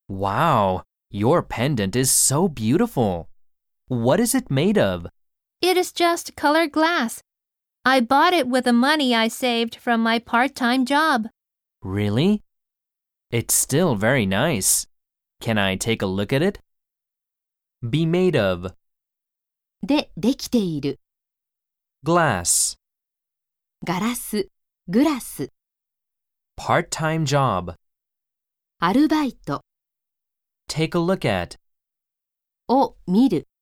Wow, your pendant is so beautiful. What is it made of? It is just colored glass. I bought it with the money I saved from my part-time job. Really? It's still very nice. Can I take a look at it? Be made of. でできている。 Glass. ガラス、グラス。 Part-time job. アルバイト。 Take a look at. を見る。